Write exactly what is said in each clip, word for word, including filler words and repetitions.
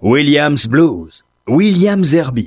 Williams Blues, William Zerbib.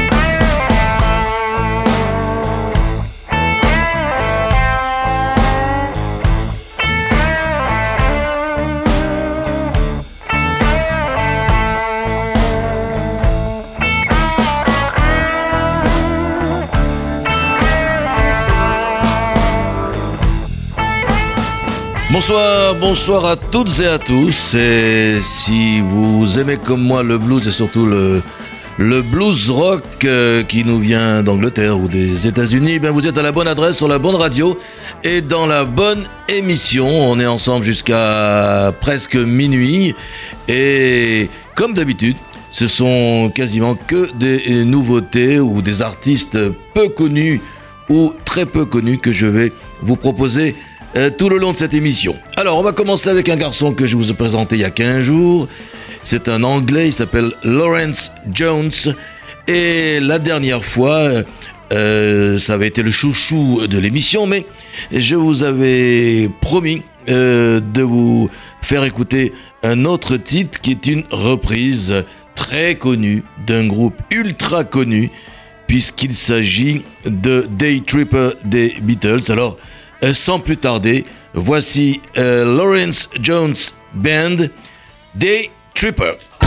Bonsoir, bonsoir à toutes et à tous. Et si vous aimez comme moi le blues et surtout le, le blues rock euh, qui nous vient d'Angleterre ou des États-Unis, ben vous êtes à la bonne adresse, sur la bonne radio et dans la bonne émission. On est ensemble jusqu'à presque minuit et comme d'habitude, ce sont quasiment que des nouveautés ou des artistes peu connus ou très peu connus que je vais vous proposer Euh, tout le long de cette émission. Alors, on va commencer avec un garçon que je vous ai présenté il y a quinze jours. C'est un Anglais, il s'appelle Lawrence Jones. Et la dernière fois, euh, ça avait été le chouchou de l'émission, mais je vous avais promis euh, de vous faire écouter un autre titre qui est une reprise très connue d'un groupe ultra connu, puisqu'il s'agit de Day Tripper des Beatles. Alors, Euh, sans plus tarder, voici euh, Lawrence Jones Band, Day Tripper.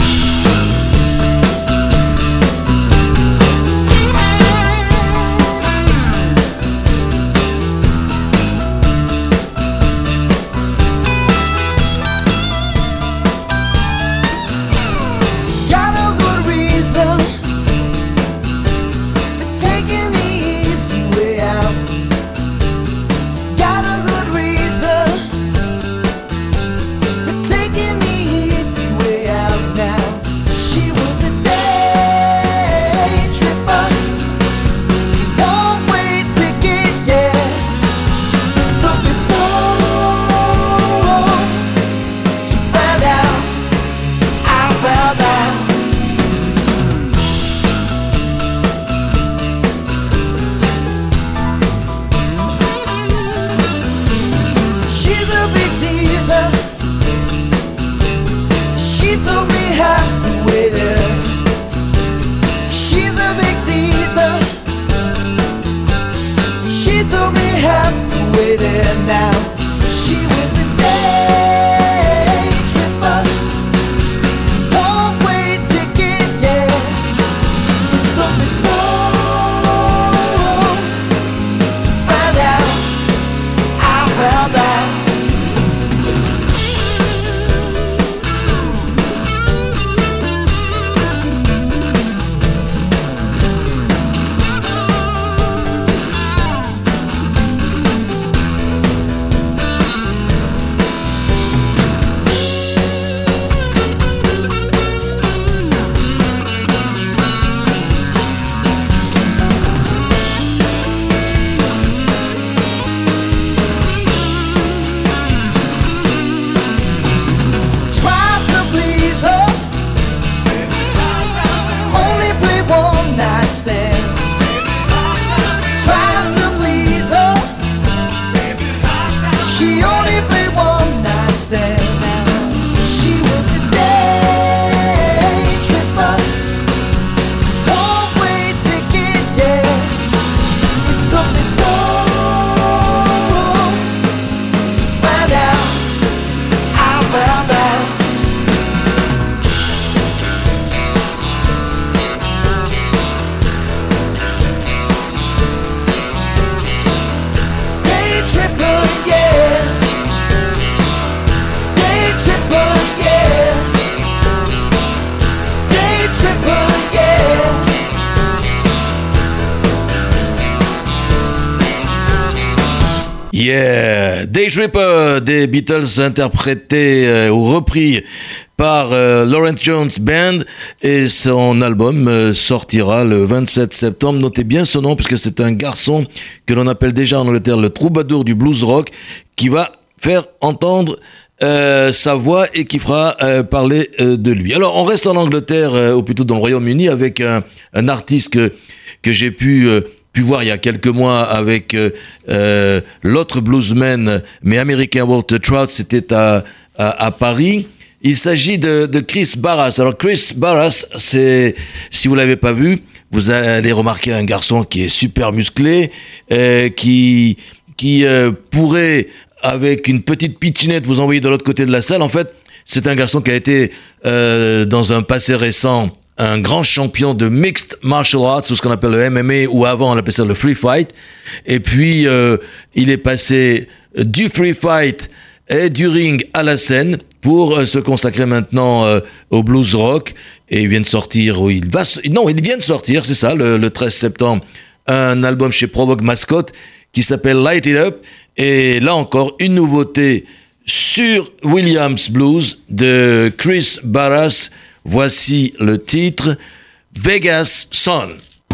Yeah, Day Tripper des Beatles interprété euh, ou repris par euh, Lawrence Jones Band, et son album euh, sortira le vingt-sept septembre. Notez bien ce nom parce que c'est un garçon que l'on appelle déjà en Angleterre le troubadour du blues rock, qui va faire entendre euh, sa voix et qui fera euh, parler euh, de lui. Alors on reste en Angleterre, euh, ou plutôt dans le Royaume-Uni, avec un, un artiste que, que j'ai pu... Euh, pu voir il y a quelques mois avec euh, euh, l'autre bluesman mais américain Walter Trout. C'était à, à, à Paris. Il s'agit de, de Chris Barras. Alors Chris Barras, c'est, si vous l'avez pas vu, vous allez remarquer un garçon qui est super musclé, euh, qui qui euh, pourrait, avec une petite pitchinette, vous envoyer de l'autre côté de la salle. En fait, c'est un garçon qui a été euh, dans un passé récent un grand champion de mixed martial arts, ou ce qu'on appelle le M M A, ou avant on appelait ça le free fight. Et puis euh, il est passé du free fight et du ring à la scène pour euh, se consacrer maintenant euh, au blues rock. Et il vient de sortir, ou il va, non, il vient de sortir, c'est ça, le, le treize septembre, un album chez Provoke Mascot qui s'appelle Light It Up. Et là encore, une nouveauté sur Williams Blues de Chris Barras. Voici le titre, Vegas Sun.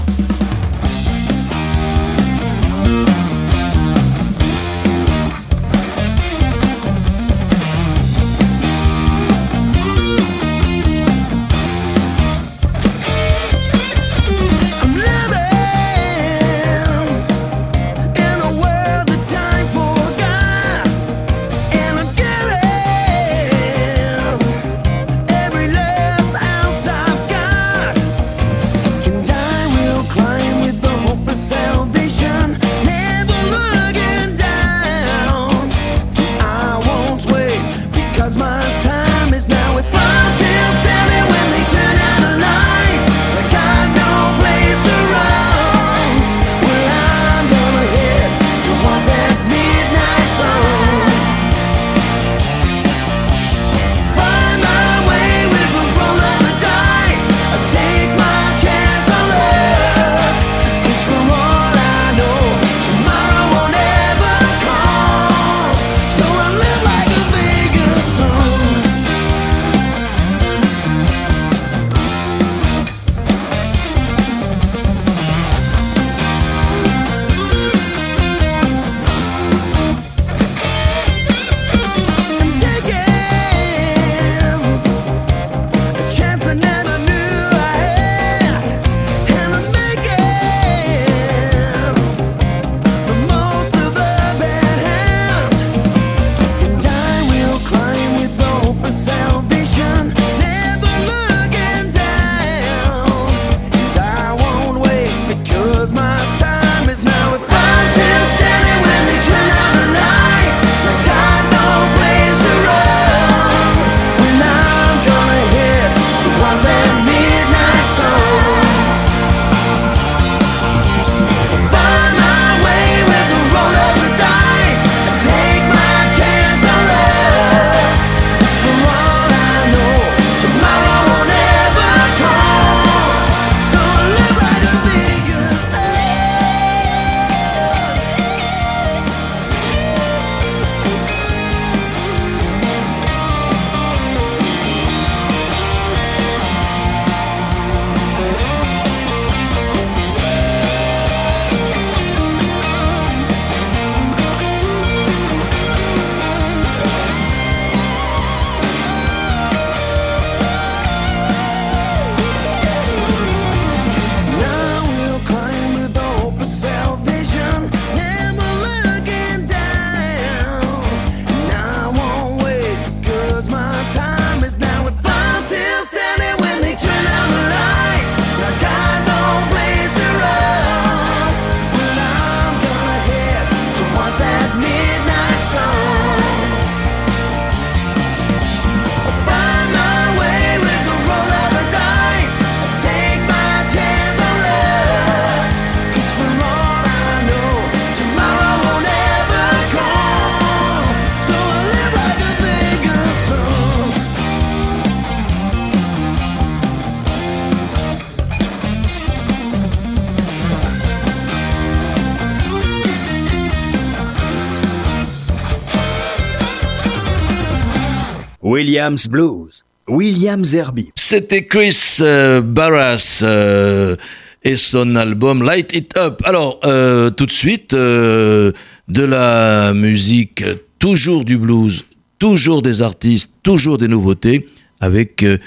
Williams Blues, Williams Herbie. C'était Chris euh, Barras euh, et son album Light It Up. Alors, euh, tout de suite, euh, de la musique, toujours du blues, toujours des artistes, toujours des nouveautés, avec euh,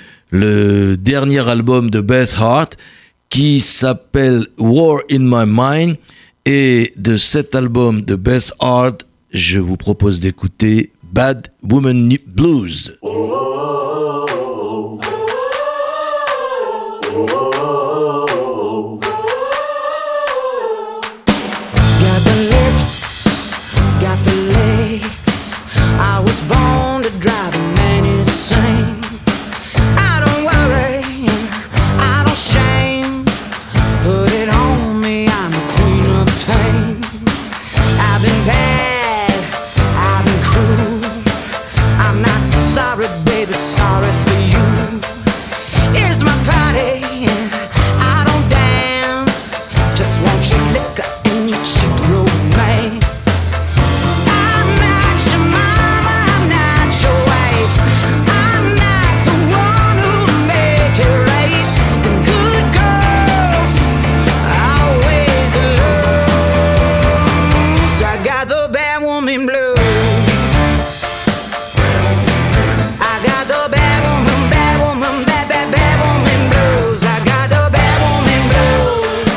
le dernier album de Beth Hart qui s'appelle War in My Mind. Et de cet album de Beth Hart, je vous propose d'écouter Bad Woman Blues. Oh. Got the lips, got the legs. I was born to drive a man insane. I don't worry, I don't shame. Put it on me, I'm the queen of pain. I've been bad, I've been cruel. I'm not sorry, baby, sorry for you. Here's my party, I don't dance. Just want your liquor and your cheap romance. I'm not your mama, I'm not your wife. I'm not the one who'll make it right. The good girls always lose. I got the bad woman blues. I got the bad woman, bad woman, bad, bad, bad woman blues. I got the bad woman blues.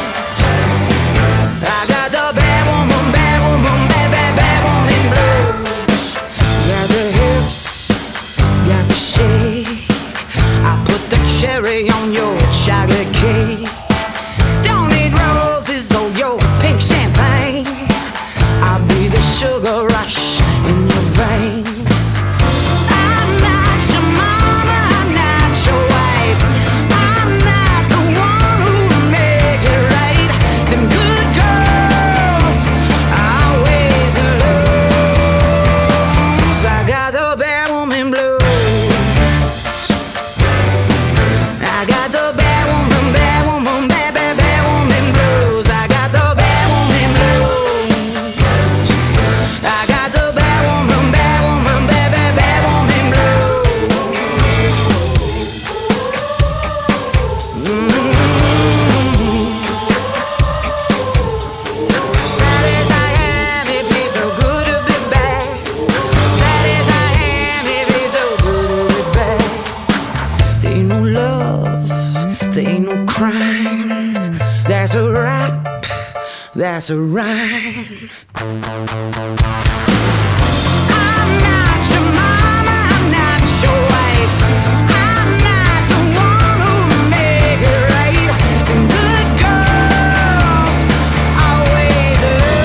I got the bad woman, bad woman, bad, bad, bad woman blues. Got the hips, got the shake. I put the cherry on your chocolate cake. Don't need roses or your pink champagne. I'll be the sugar rush in your veins. I'm not your mama, I'm not your wife. I'm not the one who'll make it right. Them good girls always lose. I got the bad woman blues. I got the bad woman, bad woman, bad, bad, bad woman blues. I got the bad woman blues. I got the bad woman, bad woman, bad, bad, bad woman blues. Mm-hmm. Sad as I am, it feels so good to be back. Sad as I am, it feels so good to be back. There ain't no love, there ain't no crime. That's a rap, that's a rhyme. I'm not your mama, I'm not your wife. I'm not the one who'll make it right. The good girls always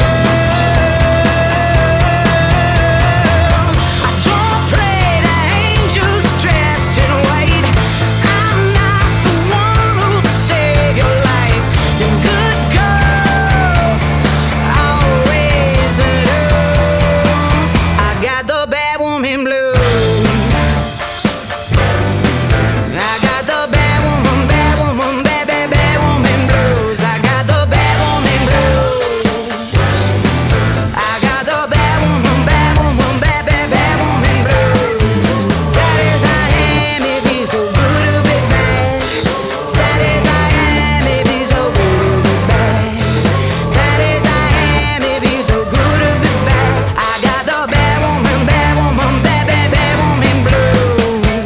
lose. I don't play the angels dressed in white. I'm not the one who'll save your life. The good girls always lose. I got the bad woman blues. I got the bad woman, bad woman, bad, bad, bad woman blues. I got the bad woman blues. I got the bad woman, bad woman, bad, bad, bad woman blues. Sad as I am, it feels so good to be back. Sad as I am, it feels so good to be back. Sad as I am, it feels so good to be back. I got the bad woman, bad woman, bad, bad, bad woman blues.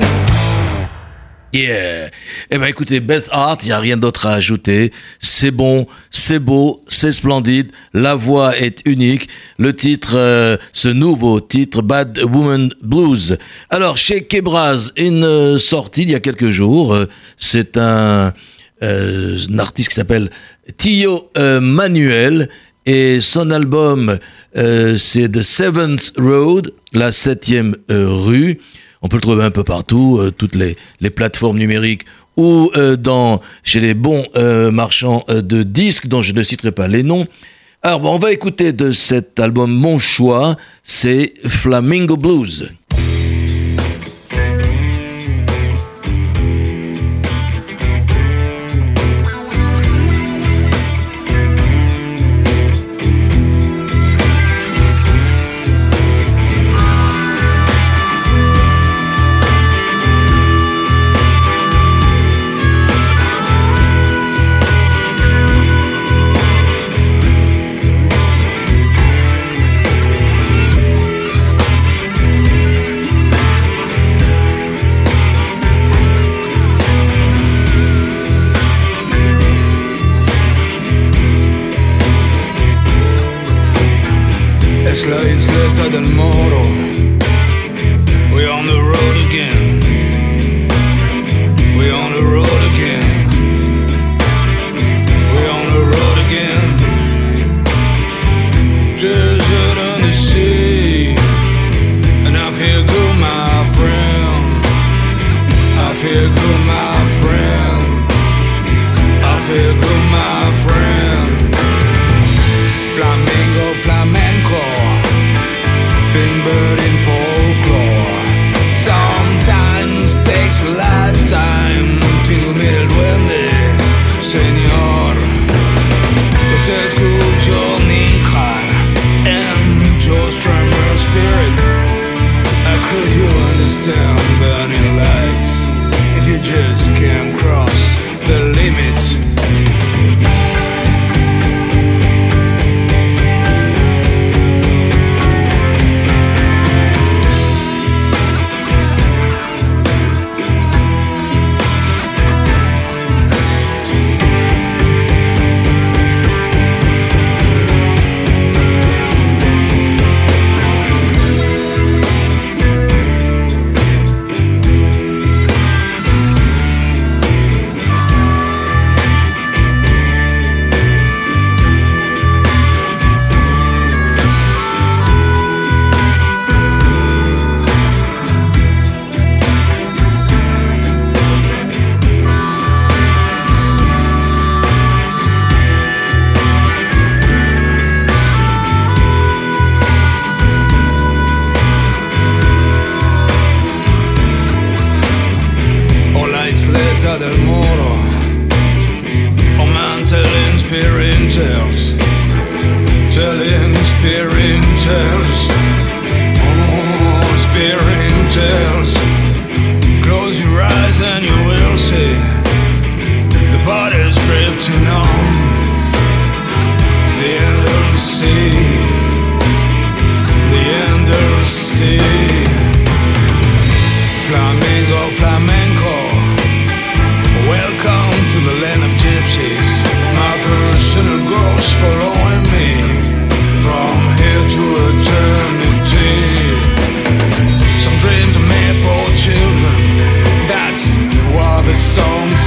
Yeah. Eh ben écoutez, Beth Hart, il n'y a rien d'autre à ajouter. C'est bon, c'est beau, c'est splendide. La voix est unique. Le titre, euh, ce nouveau titre, Bad Woman Blues. Alors, chez Quebras, une euh, sortie il y a quelques jours. Euh, c'est un, euh, un artiste qui s'appelle Tio euh, Manuel. Et son album, euh, c'est The Seventh Road, la septième euh, rue. On peut le trouver un peu partout, euh, toutes les, les plateformes numériques ou euh, dans, chez les bons euh, marchands euh, de disques dont je ne citerai pas les noms. Alors bon, on va écouter de cet album mon choix, c'est Flamingo Blues. Es la isleta del Moro. We're on the road again. We're on the road again.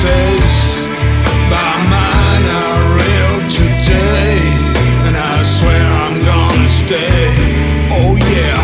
days, but mine are real today, and I swear I'm gonna stay. Oh yeah.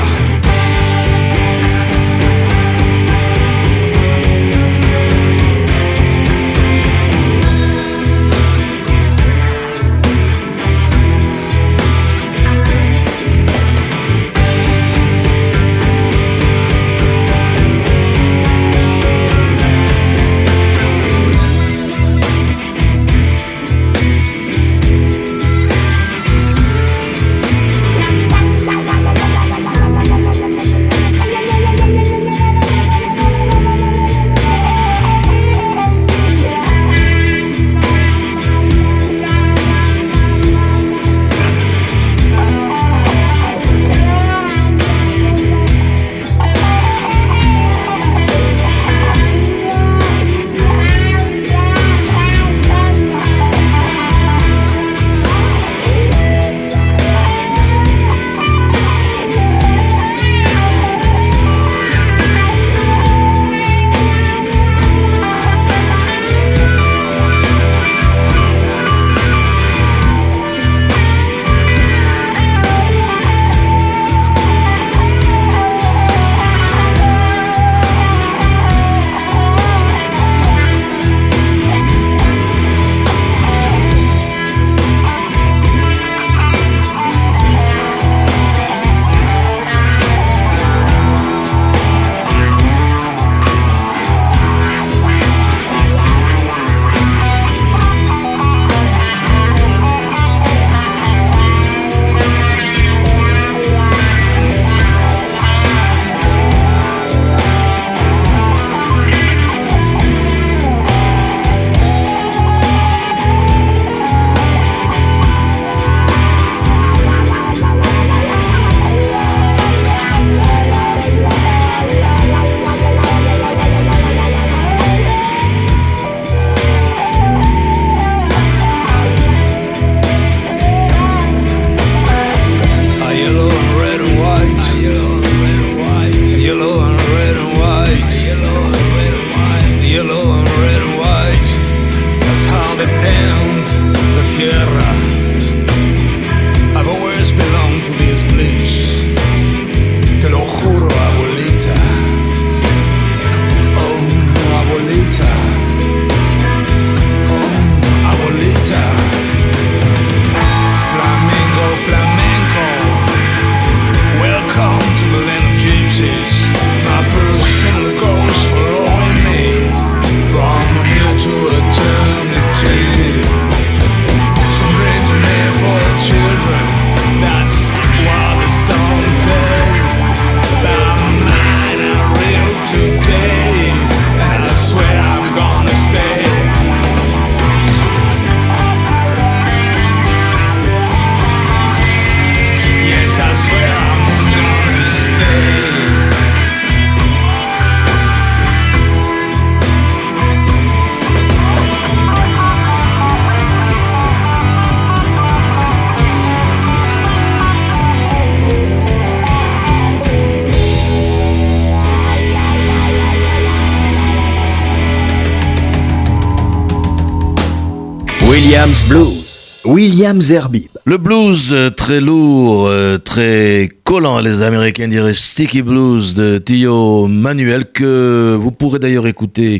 Williams Blues, Williams Herbib. Le blues euh, très lourd, euh, très collant, les Américains diraient sticky blues de Tio Manuel, que vous pourrez d'ailleurs écouter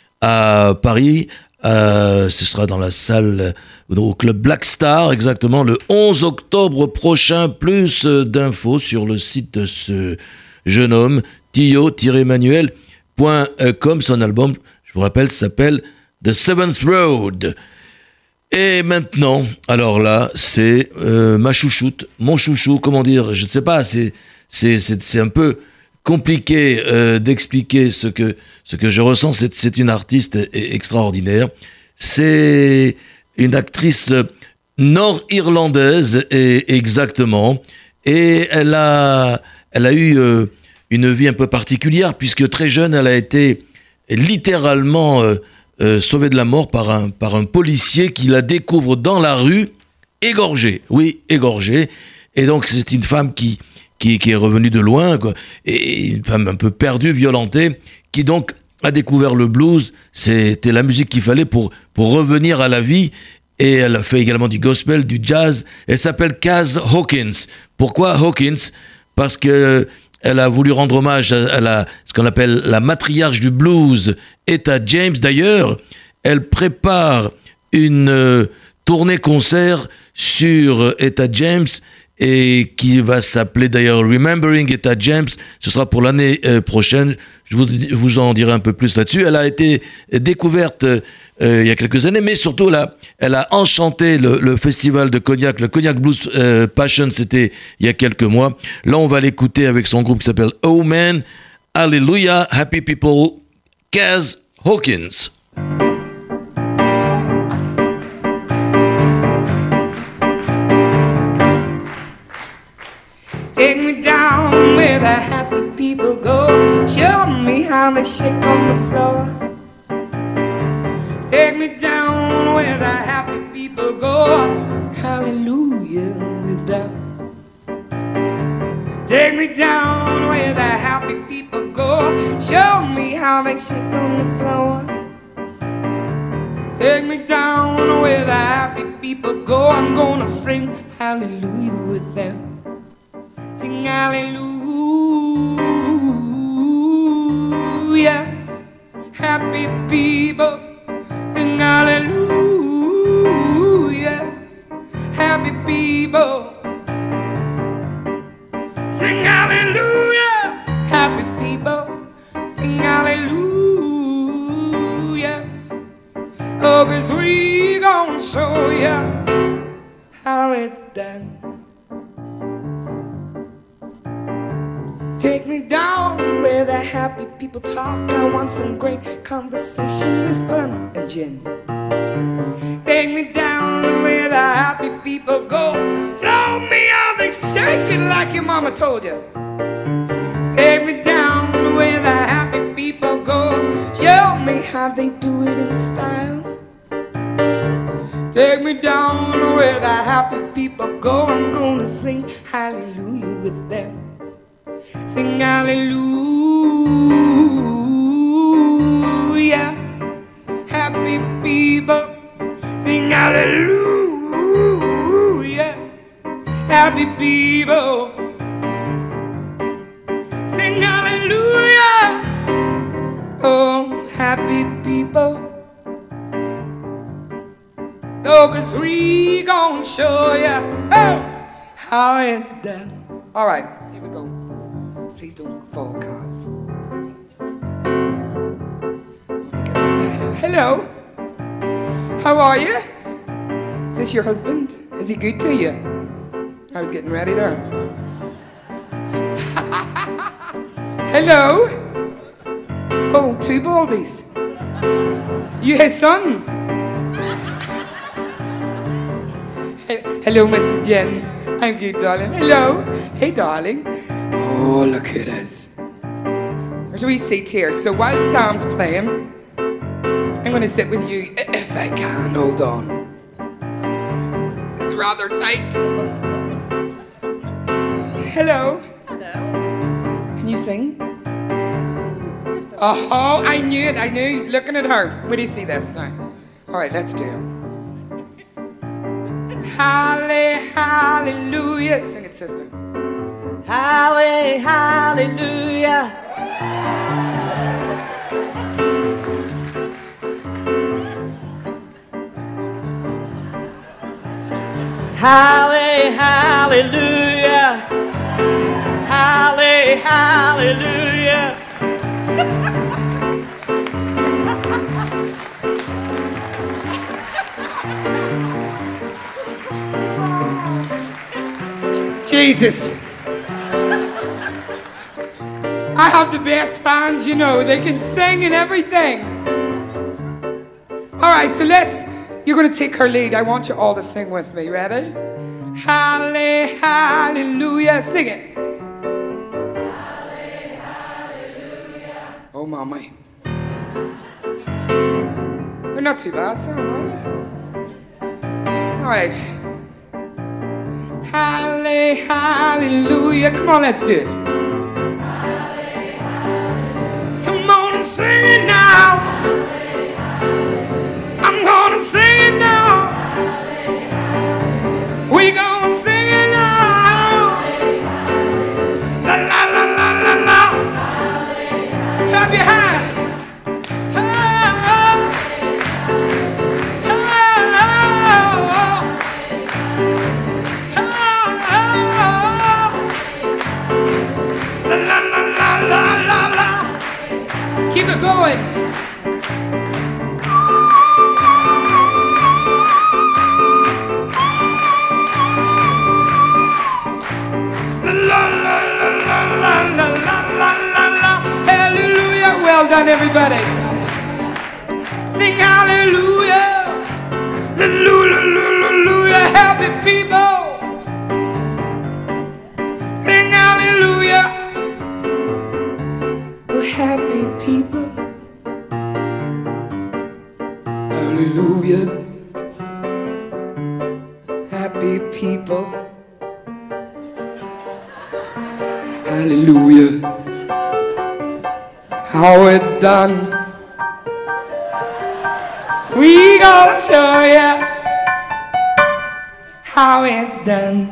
à Paris. Euh, ce sera dans la salle euh, au club Black Star, exactement le onze octobre prochain. Plus euh, d'infos sur le site de ce jeune homme, tio manuel point com. Son album, je vous rappelle, s'appelle The Seventh Road. Et maintenant, alors là, c'est euh, ma chouchoute, mon chouchou, comment dire, je ne sais pas, c'est, c'est, c'est, c'est un peu compliqué euh, d'expliquer ce que, ce que je ressens. C'est, c'est une artiste extraordinaire. C'est une actrice nord-irlandaise, et, exactement, et elle a, elle a eu euh, une vie un peu particulière, puisque très jeune, elle a été littéralement... Euh, Euh, sauvée de la mort par un, par un policier qui la découvre dans la rue, égorgée. Oui, égorgée. Et donc, c'est une femme qui, qui, qui est revenue de loin, quoi, et une femme un peu perdue, violentée, qui donc a découvert le blues, c'était la musique qu'il fallait pour, pour revenir à la vie. Et elle a fait également du gospel, du jazz. Elle s'appelle Kaz Hawkins. Pourquoi Hawkins ? Parce que elle a voulu rendre hommage à, à la, ce qu'on appelle la matriarche du blues, Etta James. D'ailleurs, elle prépare une euh, tournée concert sur Etta James et qui va s'appeler d'ailleurs Remembering Etta James. Ce sera pour l'année euh, prochaine. Je vous, vous en dirai un peu plus là-dessus. Elle a été découverte euh, il y a quelques années, mais surtout là, elle a enchanté le, le festival de Cognac, le Cognac Blues euh, Passion, c'était il y a quelques mois. Là, on va l'écouter avec son groupe qui s'appelle Oh Man, Hallelujah, Happy People, Kaz Hawkins. Take me down where the happy people go. Show me how they shake on the floor. Take me down where the happy people go. Hallelujah with them. Take me down where the happy people go. Show me how they shake on the floor. Take me down where the happy people go. I'm gonna sing hallelujah with them. Sing hallelujah, happy people. Sing hallelujah, happy people. Sing hallelujah, happy people. Sing hallelujah. Oh, 'cause we gon' show ya how it's done. Take me down where the happy people talk. I want some great conversation with fun and gin. Take me down where the happy people go. Show me how they shake it like your mama told you. Take me down where the happy people go. Show me how they do it in style. Take me down where the happy people go. I'm gonna sing hallelujah with them. Sing hallelujah, happy people. Sing hallelujah, happy people. Sing hallelujah, oh, happy people. Oh, 'cause we gon' show ya oh, how it's done. All right, here we go. Please don't fall, cars. Hello. How are you? Is this your husband? Is he good to you? I was getting ready there. Hello. Oh, two baldies. You his son? Hello, Missus Jen. I'm good, darling. Hello. Hey, darling. Oh, look at us. There's a wee seat here. So while Sam's playing, I'm going to sit with you if I can. Hold on. It's rather tight. Hello. Hello. Can you sing? Oh, I knew it. I knew. Looking at her. Where do you see this now? All right, let's do it. Halle, hallelujah. Sing it, sister. Halle, hallelujah. Halle, hallelujah. Halle, hallelujah. Jesus. I have the best fans, you know. They can sing and everything. All right, so let's, you're going to take her lead. I want you all to sing with me. Ready? Halle, hallelujah. Sing it. Halle, hallelujah. Oh, mommy. They're not too bad, so, are they? All right. Halle, hallelujah. Come on, let's do it. Halle, hallelujah. Come on and sing it now. I'm gonna sing it now. We gonna sing it now. La la la la la la. Clap your hands. Oh, oh. Oh, oh. Oh, oh. La la la la la la la. Keep it going. Hallelujah. Well done, everybody. Sing hallelujah. Hallelujah, hallelujah. Happy people. Sing hallelujah. Oh, happy people. Hallelujah. Happy people. Hallelujah. How it's done. We gonna show ya how it's done.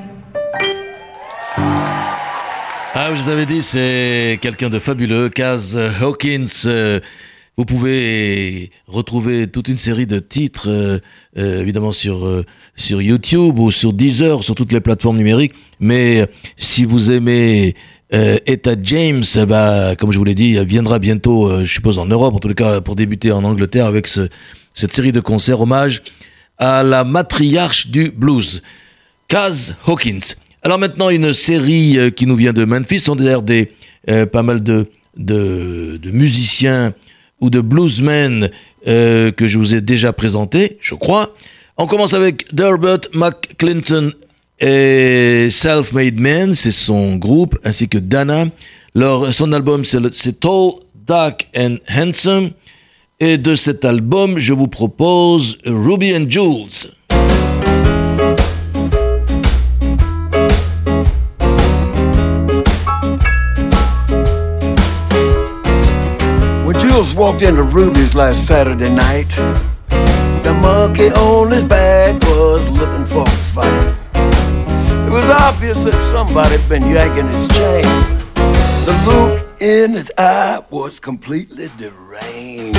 Ah, je vous avais dit, c'est quelqu'un de fabuleux, Kaz Hawkins. Euh, vous pouvez retrouver toute une série de titres, euh, euh, évidemment sur euh, sur YouTube ou sur Deezer, sur toutes les plateformes numériques. Mais si vous aimez euh, Etta James, bah, comme je vous l'ai dit, elle viendra bientôt, euh, je suppose en Europe, en tout cas pour débuter en Angleterre avec ce, cette série de concerts hommage à la matriarche du blues, Kaz Hawkins. Alors maintenant, une série euh, qui nous vient de Memphis, sont d'ailleurs des euh, pas mal de, de, de musiciens ou de bluesmen euh, que je vous ai déjà présentés, je crois. On commence avec Delbert McClinton et Self-Made Man, c'est son groupe, ainsi que Dana. Leur, son album, c'est, le, c'est Tall, Dark and Handsome. Et de cet album, je vous propose Ruby and Jules. When Jules walked into Ruby's last Saturday night, the monkey on his back was looking for a fight. It was obvious that somebody had been yanking his chain. The look in his eye was completely deranged.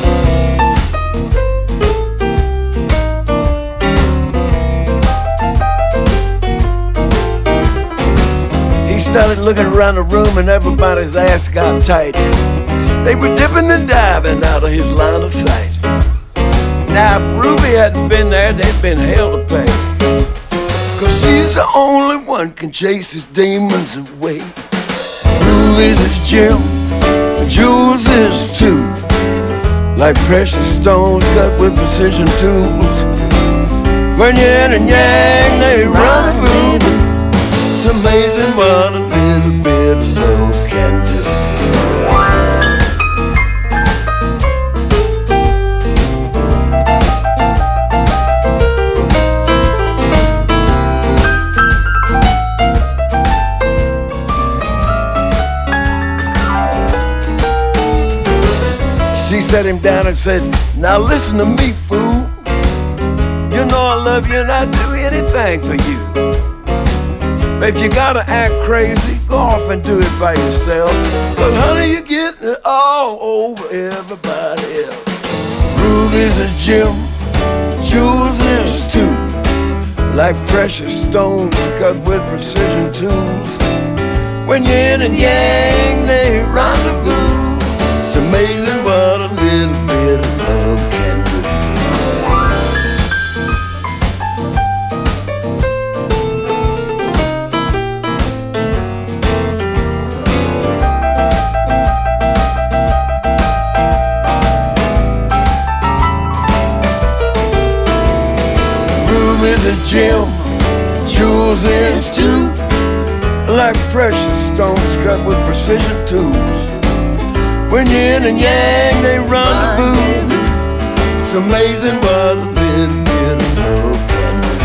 He started looking around the room and everybody's ass got tight. They were dipping and diving out of his line of sight. Now if Ruby hadn't been there, they'd been hell to pay. Cause she's the only one can chase his demons away. Ruby's his gem, Jules is too. Like precious stones cut with precision tools. When yin and yang they rendezvous. It's amazing what a little bit of love can do. She sat him down and said, now listen to me, fool. You know I love you and I'd do anything for you. But if you gotta act crazy, go off and do it by yourself. But honey, you're getting it all over everybody else. Ruby's a gem, Jules is too. Like precious stones cut with precision tools. When yin and yang they rendezvous. It's amazing what a little bit of love can do. Ruby's a gem, Jules is too. Like precious stones cut with precision tools. When yin and yang they rendezvous. It's amazing what a little bit of love can do.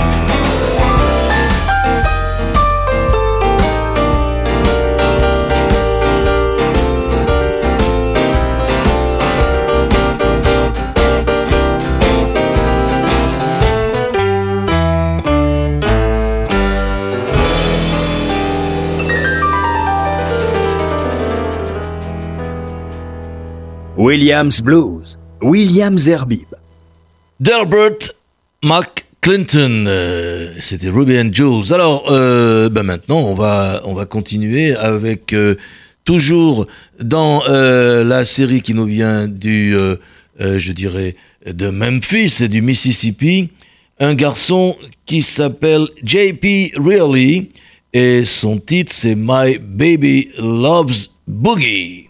Williams Blues, Williams Herbib. Delbert McClinton, euh, c'était Ruby and Jules. Alors, euh, ben maintenant, on va, on va continuer avec, euh, toujours dans euh, la série qui nous vient du, euh, euh, je dirais, de Memphis et du Mississippi, un garçon qui s'appelle J P Really, et son titre c'est My Baby Loves Boogie.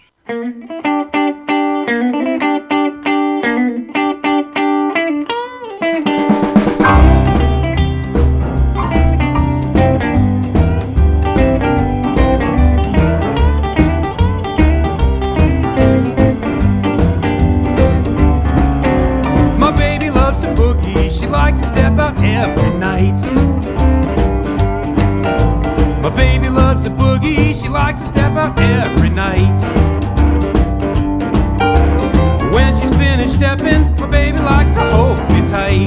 Every night, my baby loves to boogie. She likes to step out every night. When she's finished stepping, my baby likes to hold me tight.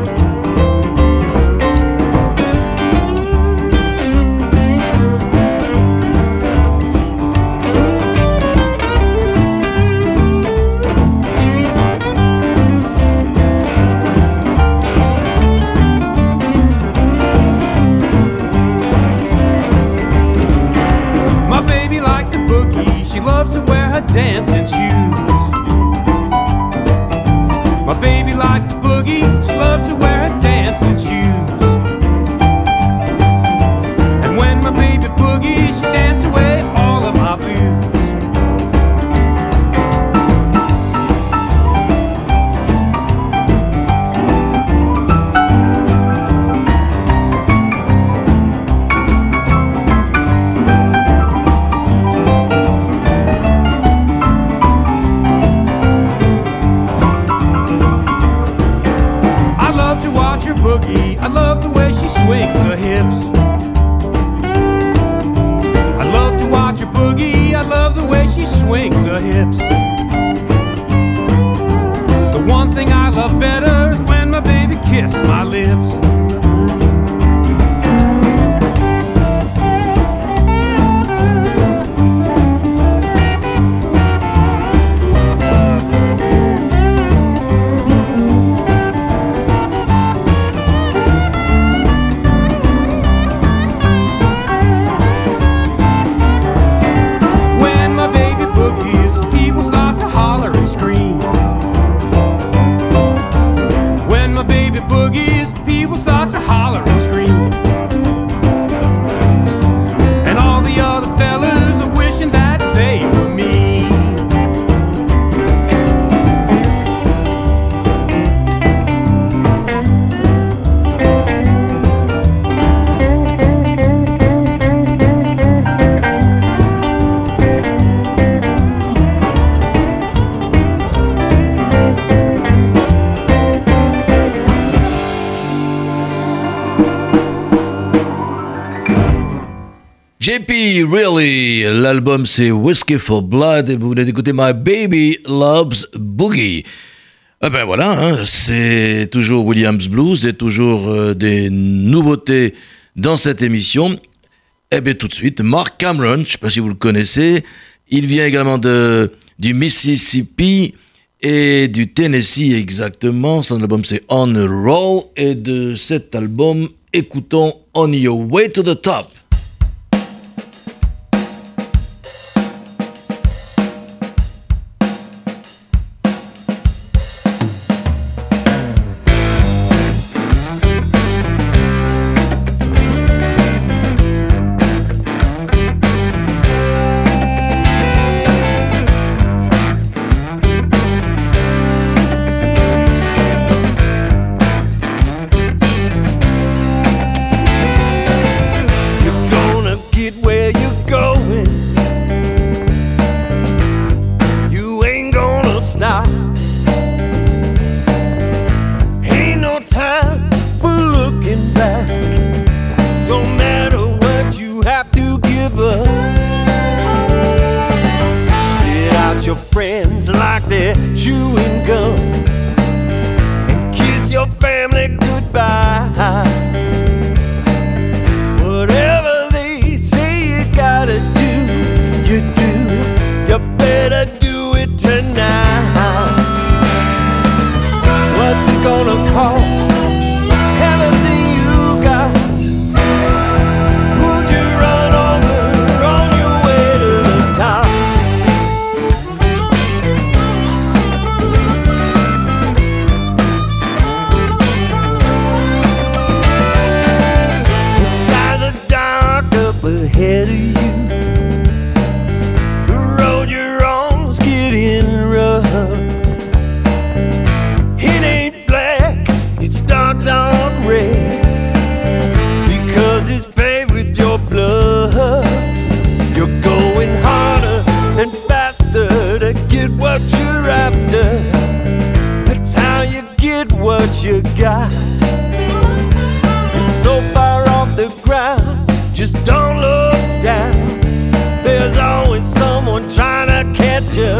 Dancing shoes. My baby likes to boogie. She loves to wear her dancing shoes. And when my baby boogies, she dances away all of my blues. I love the way she swings her hips. I love to watch her boogie. I love the way she swings her hips. The one thing I love better is when my baby kisses my lips. J P Really, l'album c'est Whiskey for Blood et vous venez d'écouter My Baby Loves Boogie. Eh ben voilà, hein, c'est toujours Williams Blues et toujours euh, des nouveautés dans cette émission. Eh bien tout de suite, Mark Cameron, je ne sais pas si vous le connaissez, il vient également de, du Mississippi et du Tennessee exactement. Son album c'est On a Roll et de cet album, écoutons On Your Way to the Top. You better do it tonight. cost everything you got? Would you run over on your way to the top? The skies are dark up ahead of you. The road you're on's getting rough. It ain't black, it's dark, dark red, because it's paved with your blood. You're going harder and faster to get what you're after. That's how you get what you got. You're so far off the ground, just don't look down. There's always someone trying to catch you.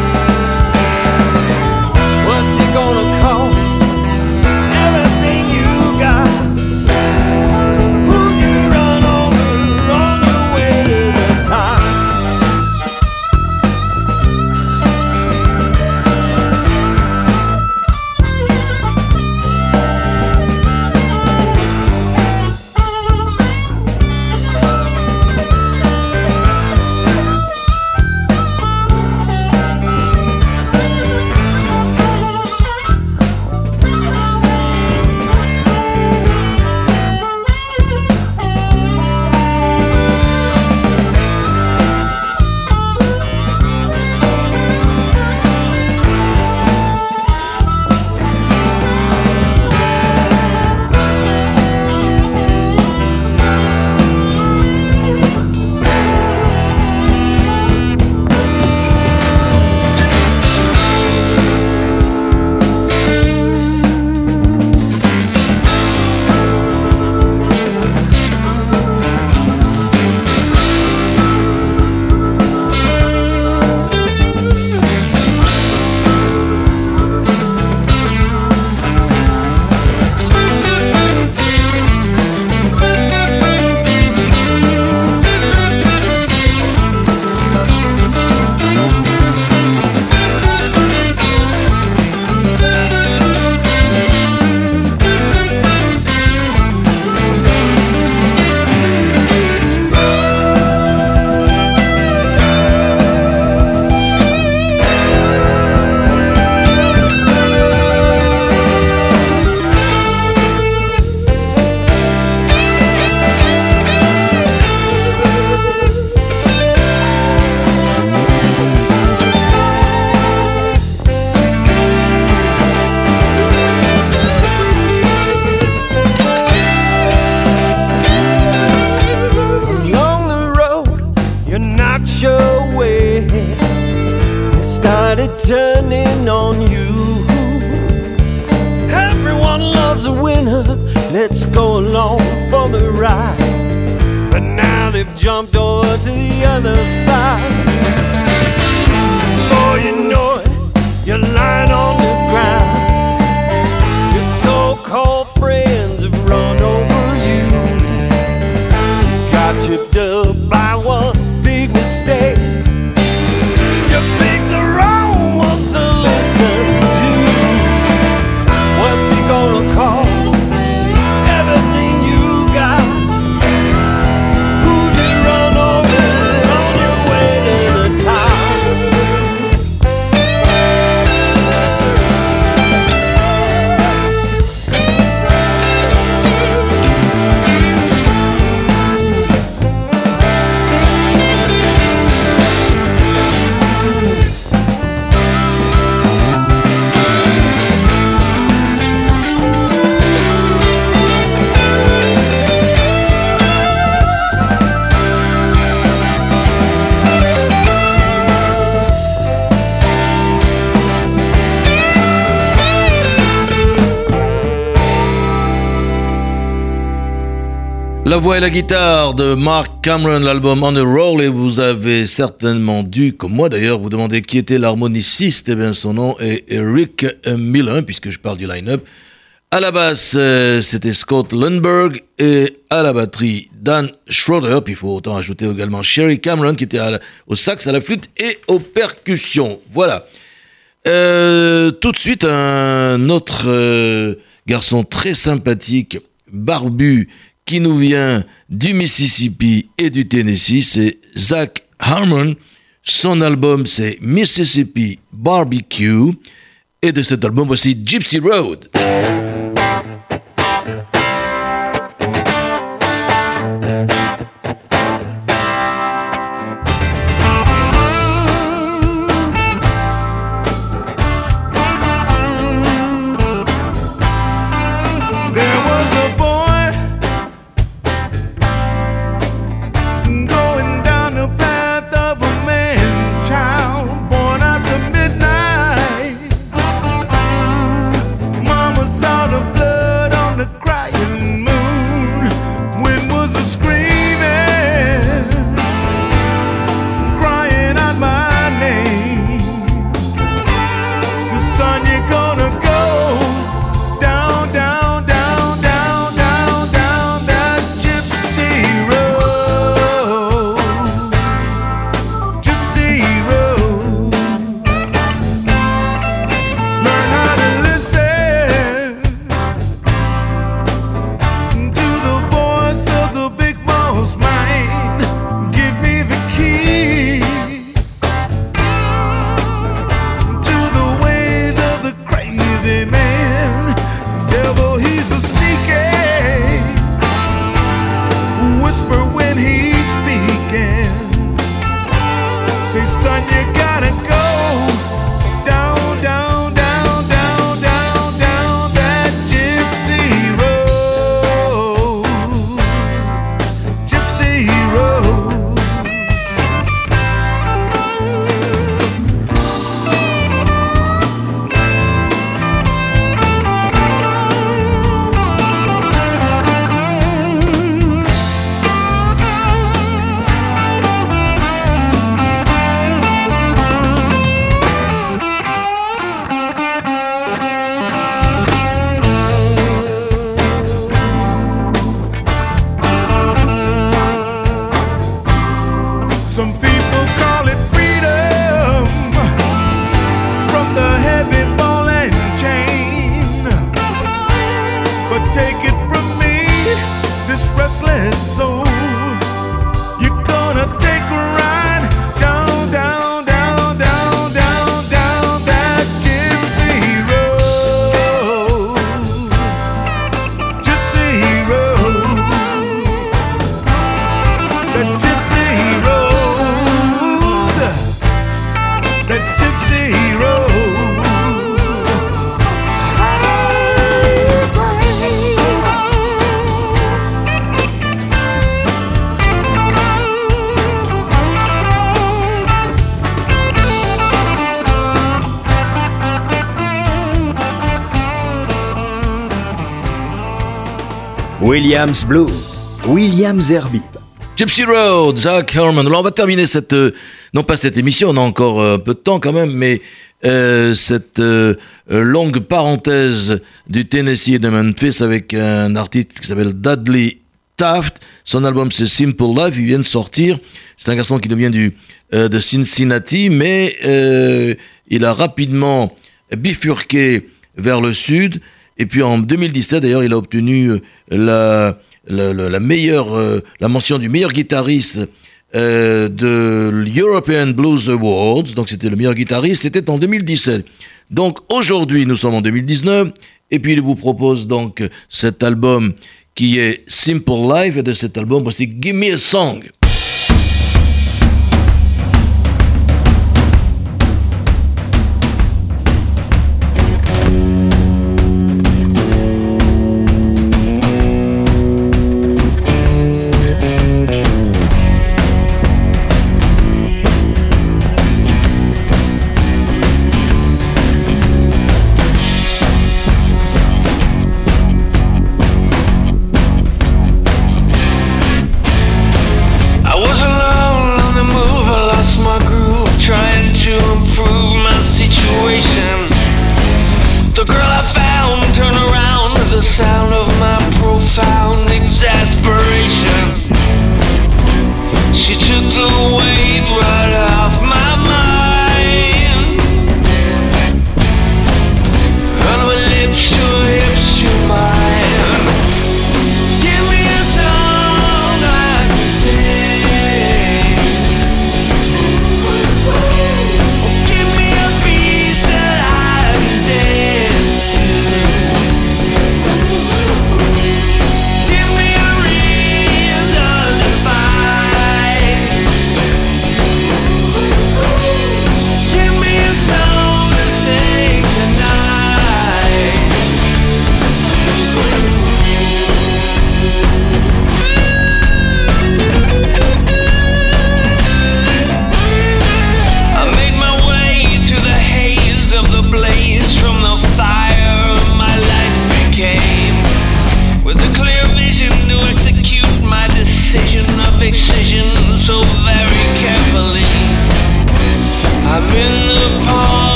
What's it gonna cost? Everything you got. Would you run over on your way to the top? Turning on you. Everyone loves a winner. Let's go along for the ride. But now they've jumped over to the other side. Before you know it, you're lying on the ground. Your so-called friends have run over you. Got you dubbed by one big mistake. You picked the wrong ones to listen to. What's it gonna cost? Everything you got. Who'd you run over on your way to the top? La voix et la guitare de Mark Cameron, l'album On the Roll, et vous avez certainement dû, comme moi d'ailleurs, vous demander qui était l'harmoniciste. Eh bien, son nom est Rick Millen, puisque je parle du line-up. À la basse, euh, c'était Scott Lundberg, et à la batterie, Dan Schroeder. Puis il faut autant ajouter également Sherry Cameron, qui était à la, au sax, à la flûte et aux percussions. Voilà. Euh, tout de suite, un autre euh, garçon très sympathique, barbu, qui nous vient du Mississippi et du Tennessee, c'est Zac Harmon. Son album, c'est Mississippi Barbecue. Et de cet album, voici Gypsy Road. Williams Blues, Williams Herbie. Gypsy Road, Zac Harmon. Alors on va terminer cette, euh, non pas cette émission, on a encore un euh, peu de temps quand même, mais euh, cette euh, longue parenthèse du Tennessee et de Memphis avec un artiste qui s'appelle Dudley Taft. Son album c'est Simple Life, il vient de sortir. C'est un garçon qui nous vient du, euh, de Cincinnati, mais euh, il a rapidement bifurqué vers le sud. Et puis en deux mille dix-sept, d'ailleurs, il a obtenu la, la, la, la meilleure, euh, la mention du meilleur guitariste euh, de l'European Blues Awards. Donc c'était le meilleur guitariste, c'était en deux mille dix-sept. Donc aujourd'hui, nous sommes en deux mille dix-neuf, et puis il vous propose donc cet album qui est Simple Life, et de cet album, voici Give Me a Song.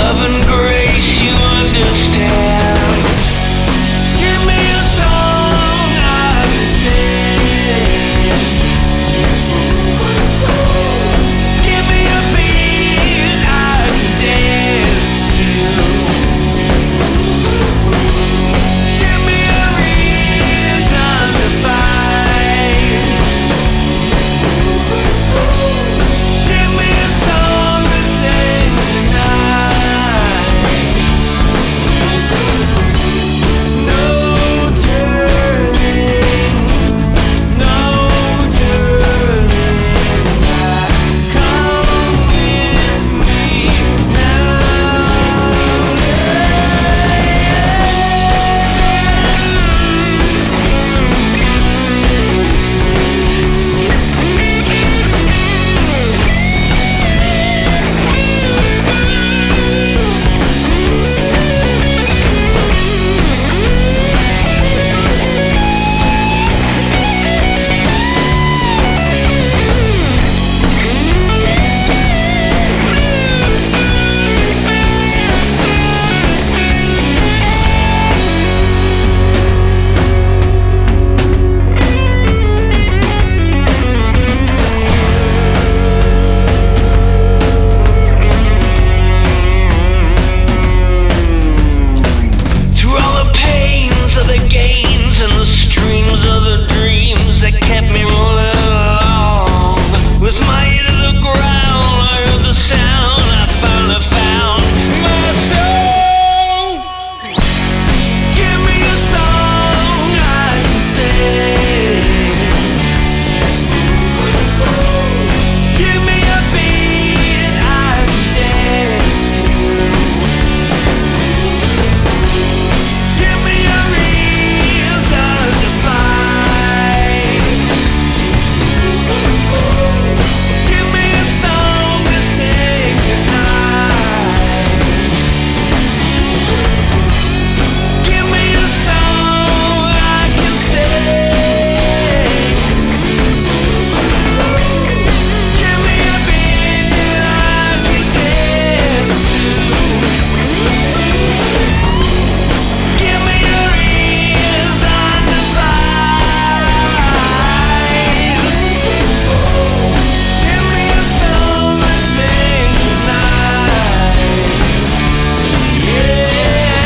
love and grace you understand. Give me a song I can sing. Give me a beat I can dance to. Give me a reason to fight. Give me a song to sing tonight. No turning, no turning back. Come with me now. Through all the pains of the gains and the streams of the dreams that kept me rolling along. With my ear to the ground, I heard the sound, I finally found my soul. Give me a song I can sing. Give me a beat I can dance to. Give me a reason to fight. Give me a song to sing tonight. Give me a song I can sing. Give me a beat I can dance to. Give me a reason to fight. Give me a song to sing tonight. Yeah.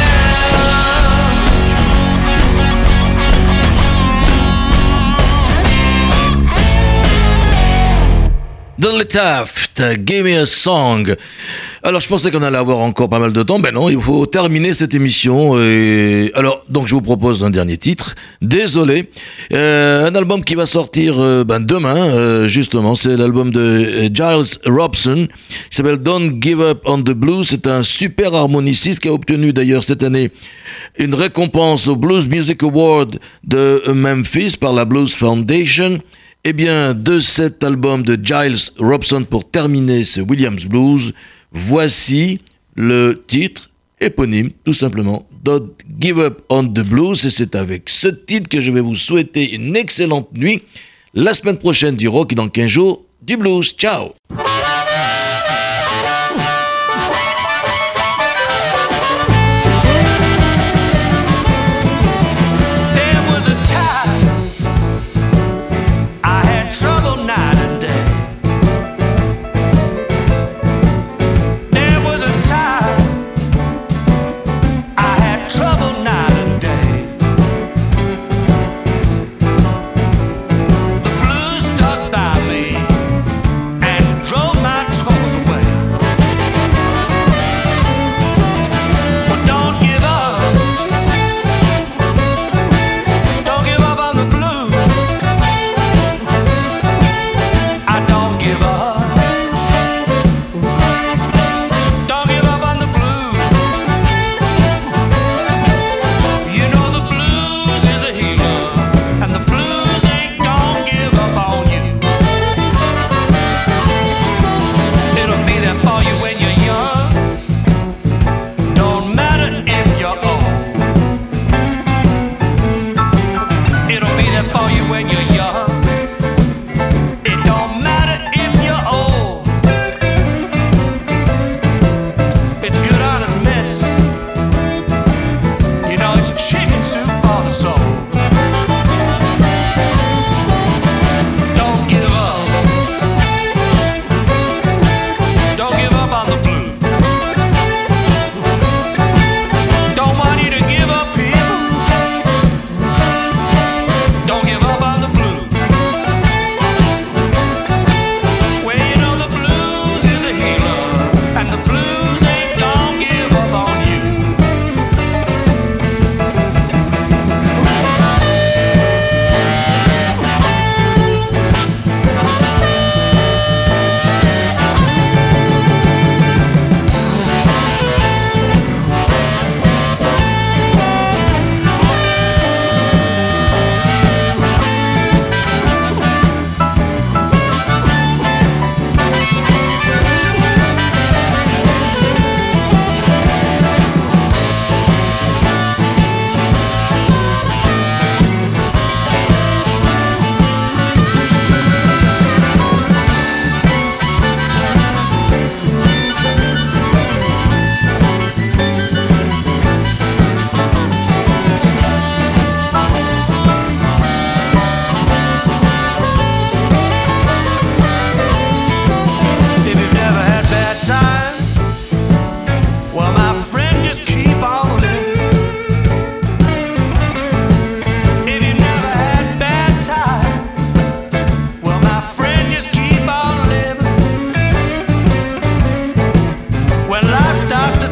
Dudley Taft, Give Me a Song. Alors je pensais qu'on allait avoir encore pas mal de temps, ben non, il faut terminer cette émission. Et... alors donc je vous propose un dernier titre. Désolé, euh, un album qui va sortir euh, ben, demain, euh, justement, c'est l'album de euh, Giles Robson, qui s'appelle Don't Give Up on the Blues. C'est un super harmoniciste qui a obtenu d'ailleurs cette année une récompense au Blues Music Award de Memphis par la Blues Foundation. Eh bien, de cet album de Giles Robson, pour terminer ce Williams Blues, voici le titre éponyme, tout simplement, Don't Give Up on the Blues. Et c'est avec ce titre que je vais vous souhaiter une excellente nuit. La semaine prochaine du rock et dans quinze jours du blues. Ciao! There was a time I had trouble night and day. There was a time I had trouble night and day. The blues stuck by me and drove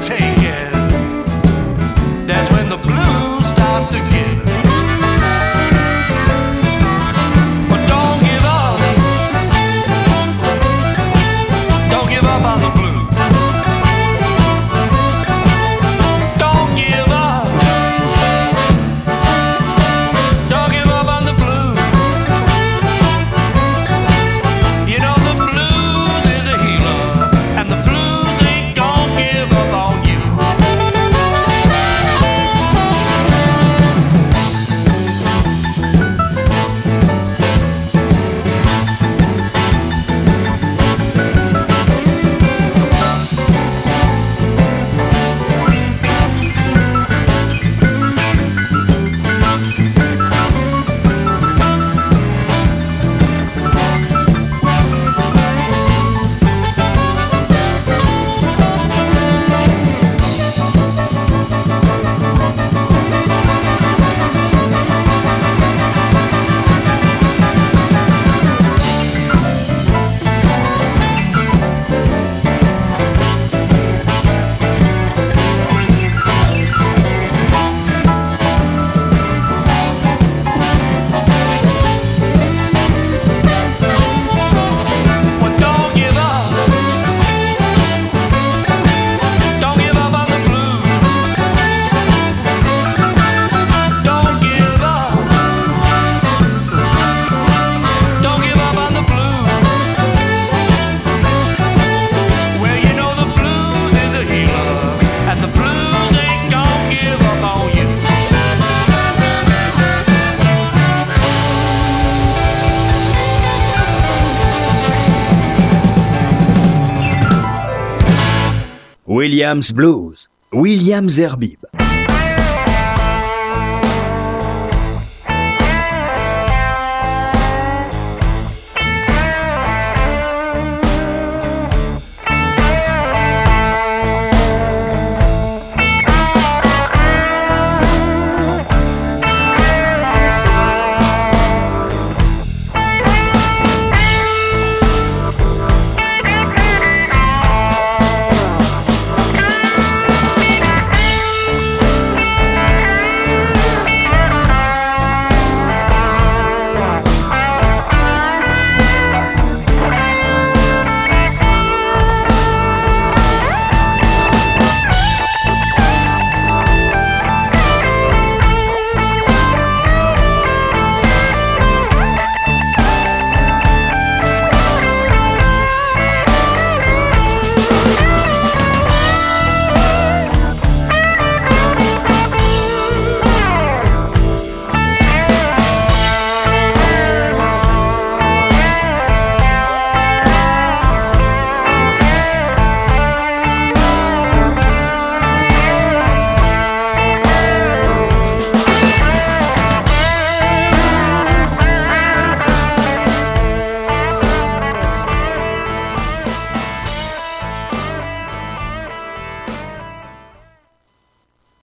take it. That's when the blues starts to give. But don't give up. Don't give up on the blues. Don't give up. Don't give up on the blues. You know the blues is a healer, and the blues ain't gonna give up on you. Well, don't give up. Don't give up on the blues. Don't give up. Don't give up on the blues. Well, you know the blues is a healer, and the blues ain't gonna give up on you. Williams Blues, Williams Herbib.